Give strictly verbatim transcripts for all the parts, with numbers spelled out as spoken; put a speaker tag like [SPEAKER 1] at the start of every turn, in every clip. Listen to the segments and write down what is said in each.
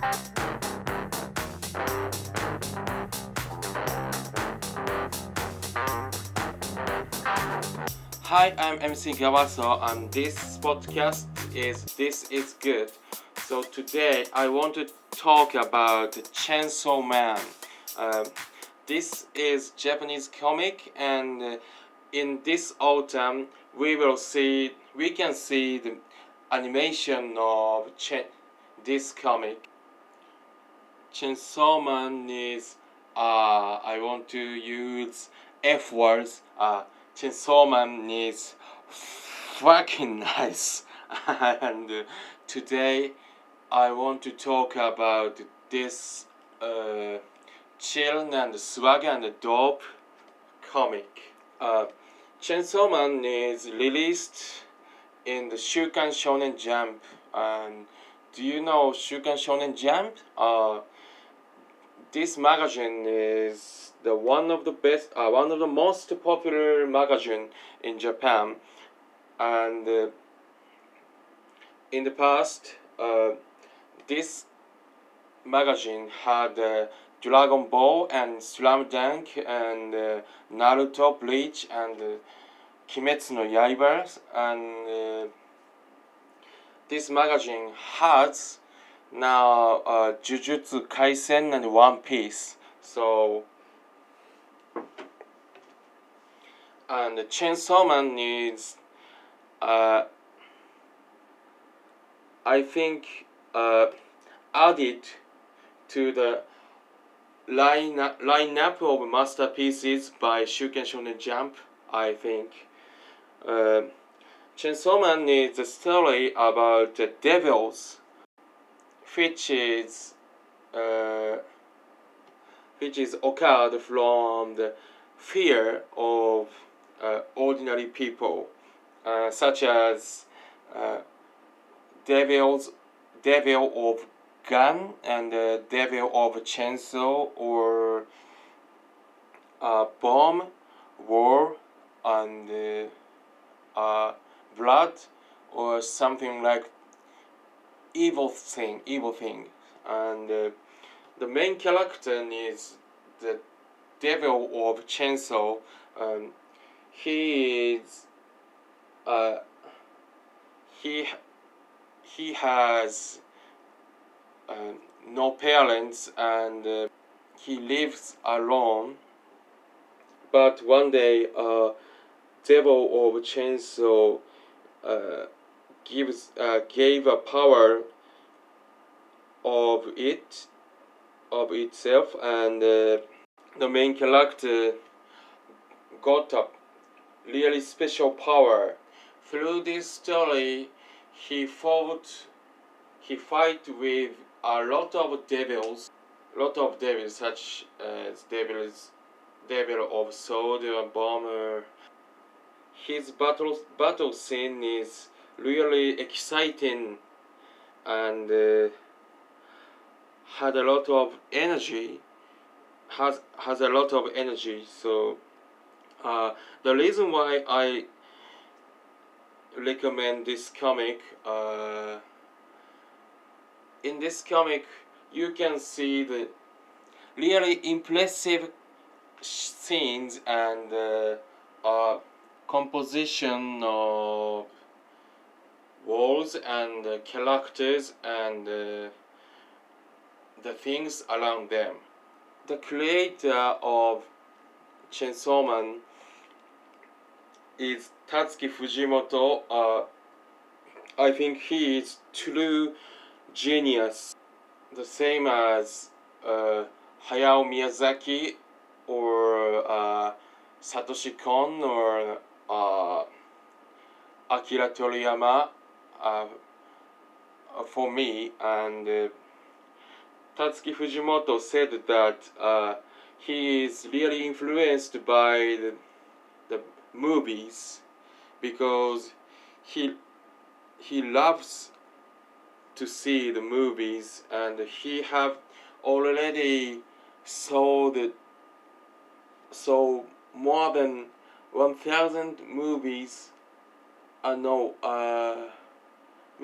[SPEAKER 1] Hi, I'm M C Gawaso, and this podcast is This Is Good. So today I want to talk about Chainsaw Man. Uh, this is Japanese comic, and uh, in this autumn we will see we can see the animation of Ch- this comic. Chainsaw Man is uh, I want to use F words. Uh, Chainsaw Man is fucking nice. and uh, today I want to talk about this uh, chill and swag and dope comic. Uh, Chainsaw Man is released in the Shukan Shonen Jump. And do you know Shukan Shonen Jump? Uh, this magazine is the one of the best, uh, one of the most popular magazine in Japan, and uh, in the past, uh, this magazine had uh, Dragon Ball and Slam Dunk and uh, Naruto, Bleach, and uh, Kimetsu no Yaiba, and uh, this magazine has now uh, Jujutsu Kaisen and One Piece. So, and Chainsaw Man is, uh, I think, uh, added to the line lineup of masterpieces by Shuken Shonen Jump. I think uh, Chainsaw Man is a story about the devils, which is uh, which is occurred from the fear of uh, ordinary people, uh, such as uh, devils, devil of gun and uh, devil of chainsaw, or uh, bomb, war, and uh, uh, blood, or something like evil thing, evil thing, and uh, the main character is the devil of chainsaw. Um, he is uh, he he has uh, no parents, and uh, he lives alone. But one day, uh, devil of chainsaw uh, gives uh, gave a power of it of itself, and uh, the main character got a really special power. Through this story, he fought he fight with a lot of devils, lot of devils such as devils, devil of sword and bomber. His battle battle scene is really exciting, and uh, had a lot of energy. Has has a lot of energy. So uh, the reason why I recommend this comic. Uh, in this comic, you can see the really impressive scenes and uh, uh, composition of walls and uh, characters and uh, the things around them. The creator of Chainsaw Man is Tatsuki Fujimoto. Uh, I think he is true genius, the same as uh, Hayao Miyazaki or uh, Satoshi Kon or uh, Akira Toriyama uh, for me. And uh, Tatsuki Fujimoto said that uh, he is really influenced by the, the movies because he he loves to see the movies, and he have already saw the saw more than one thousand movies. Uh, no, uh,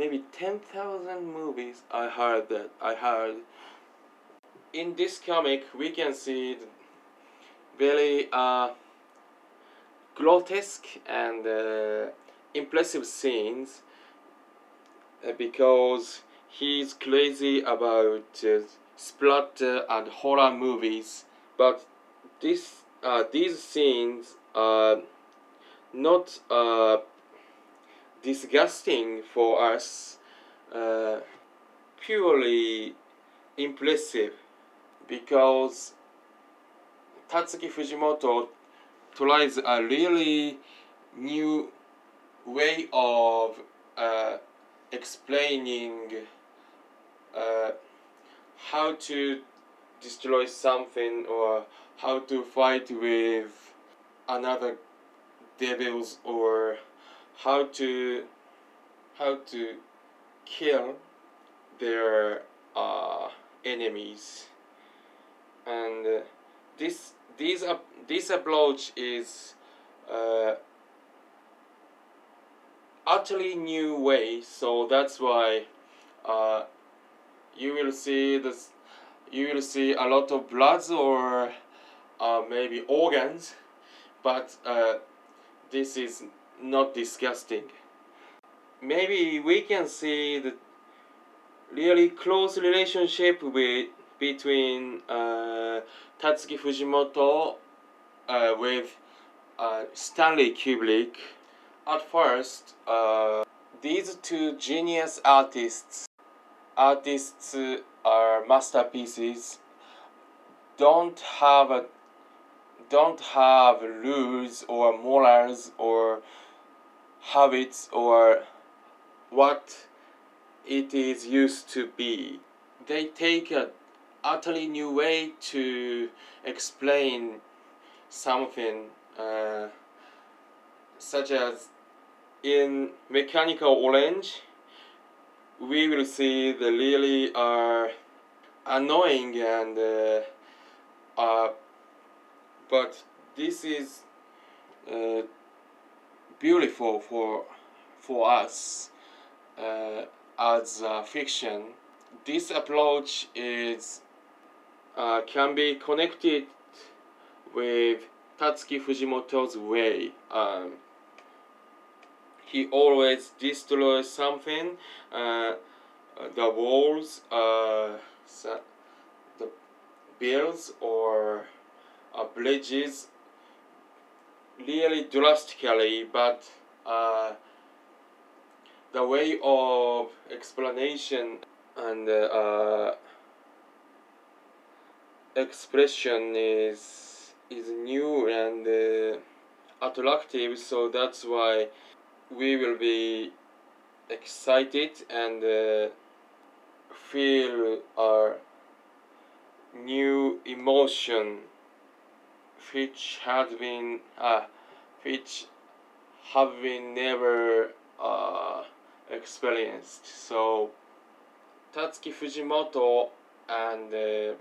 [SPEAKER 1] maybe ten thousand movies. I heard that. I heard. In this comic, we can see very uh, grotesque and uh, impressive scenes uh, because he's crazy about uh, splatter and horror movies. But this, uh, these scenes are not uh, disgusting for us, uh, purely impressive because Tatsuki Fujimoto tries a really new way of uh, explaining uh, how to destroy something or how to fight with another devils or how to how to kill their uh, enemies. And uh, this this uh, this approach is uh, utterly new way, so that's why uh, you will see this you will see a lot of bloods or uh, maybe organs, but uh, this is not disgusting. Maybe we can see the really close relationship with between uh, Tatsuki Fujimoto uh, with uh, Stanley Kubrick. At first, uh, these two genius artists artists are masterpieces don't have a, don't have rules or morals or habits or what it is used to be. They take a utterly new way to explain something, uh, such as in Mechanical Orange, we will see the really uh, annoying and uh, uh, but this is uh, beautiful for for us uh, as uh, fiction. This approach is uh, can be connected with Tatsuki Fujimoto's way. Um, he always destroys something. Uh, the walls, uh, the builds or uh, bridges really drastically, but uh, the way of explanation and uh, expression is is new and uh, attractive, so that's why we will be excited and uh, feel our new emotion which has been uh, which have been never uh, experienced. So Tatsuki Fujimoto and uh,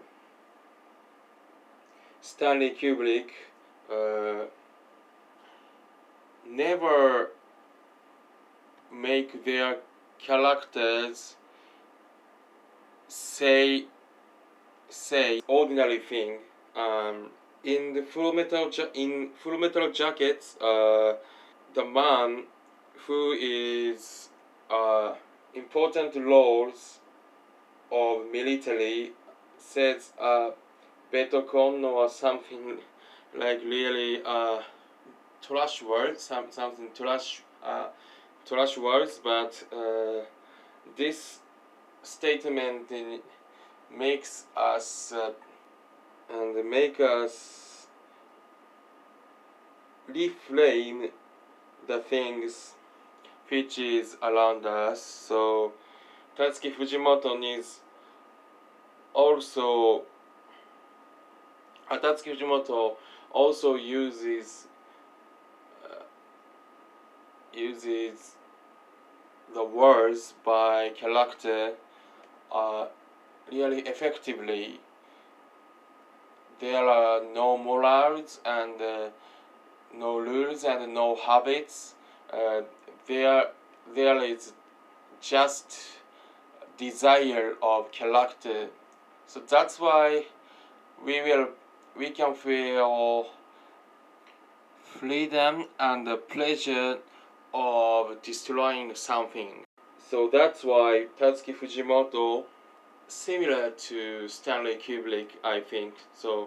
[SPEAKER 1] Stanley Kubrick uh, never make their characters say say ordinary thing. Um, in the Full Metal ja- in Full Metal Jackets, uh, the man who is uh, important roles of military says uh, Betocon or something like really uh, trash words, some, something trash uh, trash words, but uh, this statement in, makes us uh, and make us reframe the things which is around us. So Tatsuki Fujimoto is also uh, Tatsuki Fujimoto also uses uh, uses the words by character uh, really effectively. There are no morals and uh, no rules and no habits. Uh, there, there is just desire of character. So that's why we will we can feel freedom and the pleasure of destroying something. So that's why Tatsuki Fujimoto similar to Stanley Kubrick, I think. So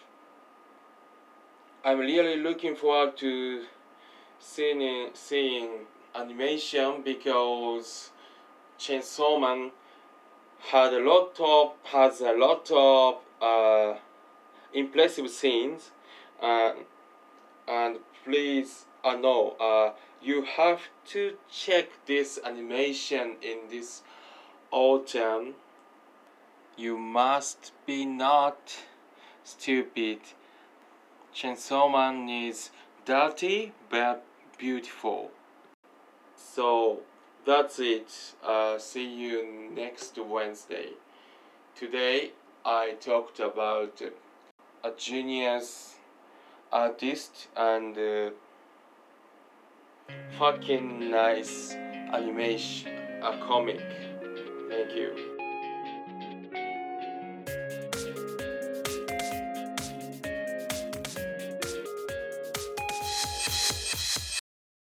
[SPEAKER 1] I'm really looking forward to seeing seeing animation because Chainsaw Man had a lot of has a lot of uh, impressive scenes, uh, and please, uh, no, uh, you have to check this animation in this autumn. You must be not stupid. Chainsaw Man is dirty but beautiful. So that's it. Uh, see you next Wednesday. Today I talked about a genius artist and uh, fucking nice animation, a comic. Thank you.